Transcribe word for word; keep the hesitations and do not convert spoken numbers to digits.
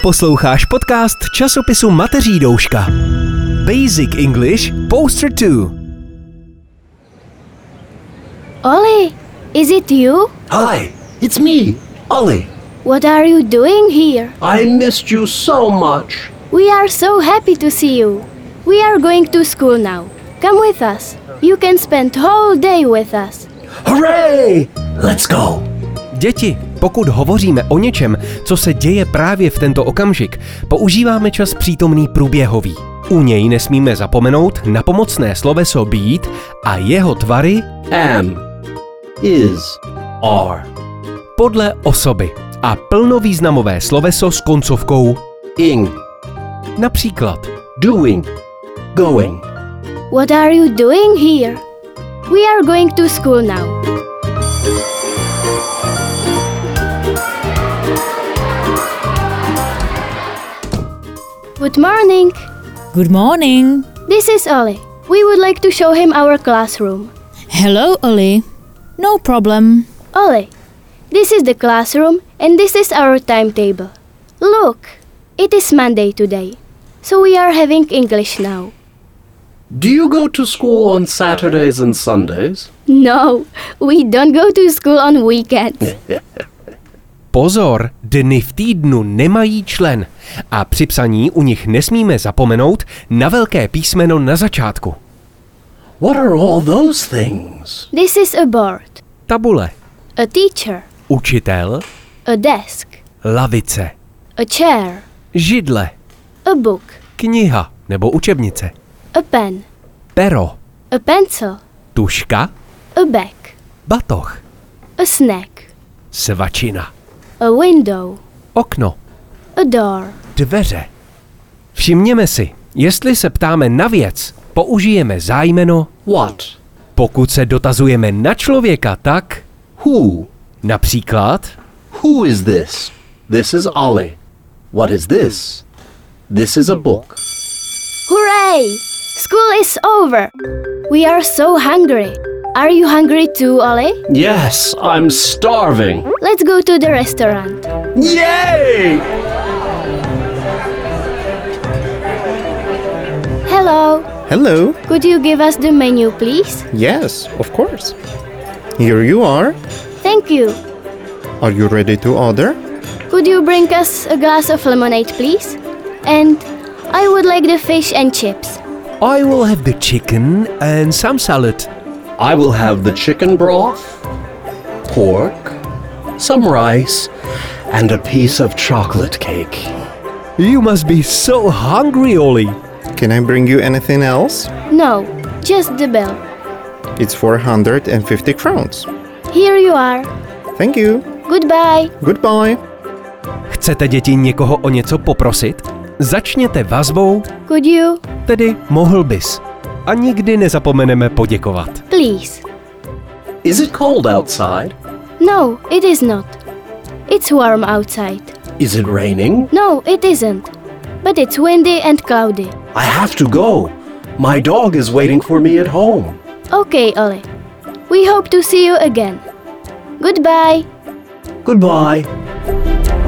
Posloucháš podcast časopisu Mateří douška. Basic English Poster two. Ollie, is it you? Hi, it's me, Ollie. What are you doing here? I missed you so much. We are so happy to see you. We are going to school now. Come with us. You can spend whole day with us. Hooray! Let's go. Děti, pokud hovoříme o něčem, co se děje právě v tento okamžik, používáme čas přítomný průběhový. U něj nesmíme zapomenout na pomocné sloveso být a jeho tvary Am, is, are. podle osoby a plnovýznamové sloveso s koncovkou Ing, například doing, going. What are you doing here? We are going to school now. Good morning. Good morning. This is Ollie. We would like to show him our classroom. Hello, Ollie. No problem. Ollie, this is the classroom and this is our timetable. Look, it is Monday today, so we are having English now. Do you go to school on Saturdays and Sundays? No, we don't go to school on weekends. pozor, dny v týdnu nemají člen a při psaní u nich nesmíme zapomenout na velké písmeno na začátku. What are all those things? This is a board, Tabule, a teacher, učitel, a desk, lavice, a chair, židle, a book, kniha nebo učebnice, a pen, pero, a pencil, tužka, a bag, batoh, a snack, svačina, a window, okno, a door. dveře. Všimněme si, jestli se ptáme na věc, použijeme zájmeno What? pokud se dotazujeme na člověka, tak Who? například Who is this? This is Ollie. What is this? This is a book. Hooray! School is over. We are so hungry. Are you hungry too, Ollie? Yes, I'm starving. Let's go to the restaurant. Yay! Hello. Hello. Could you give us the menu, please? Yes, of course. Here you are. Thank you. Are you ready to order? Could you bring us a glass of lemonade, please? And I would like the fish and chips. I will have the chicken and some salad. I will have the chicken broth, pork, some rice, and a piece of chocolate cake. You must be so hungry, Ollie. Can I bring you anything else? No, just the bill. It's four hundred fifty crowns. Here you are. Thank you. Goodbye. Goodbye. Chcete děti někoho o něco poprosit? Začněte vazbou, Could you? tedy mohl bys. A nikdy nezapomeneme poděkovat. Please. Is it cold outside? No, it is not. It's warm outside. Is it raining? No, it isn't. But it's windy and cloudy. I have to go. My dog is waiting for me at home. Okay, Ollie. We hope to see you again. Goodbye. Goodbye.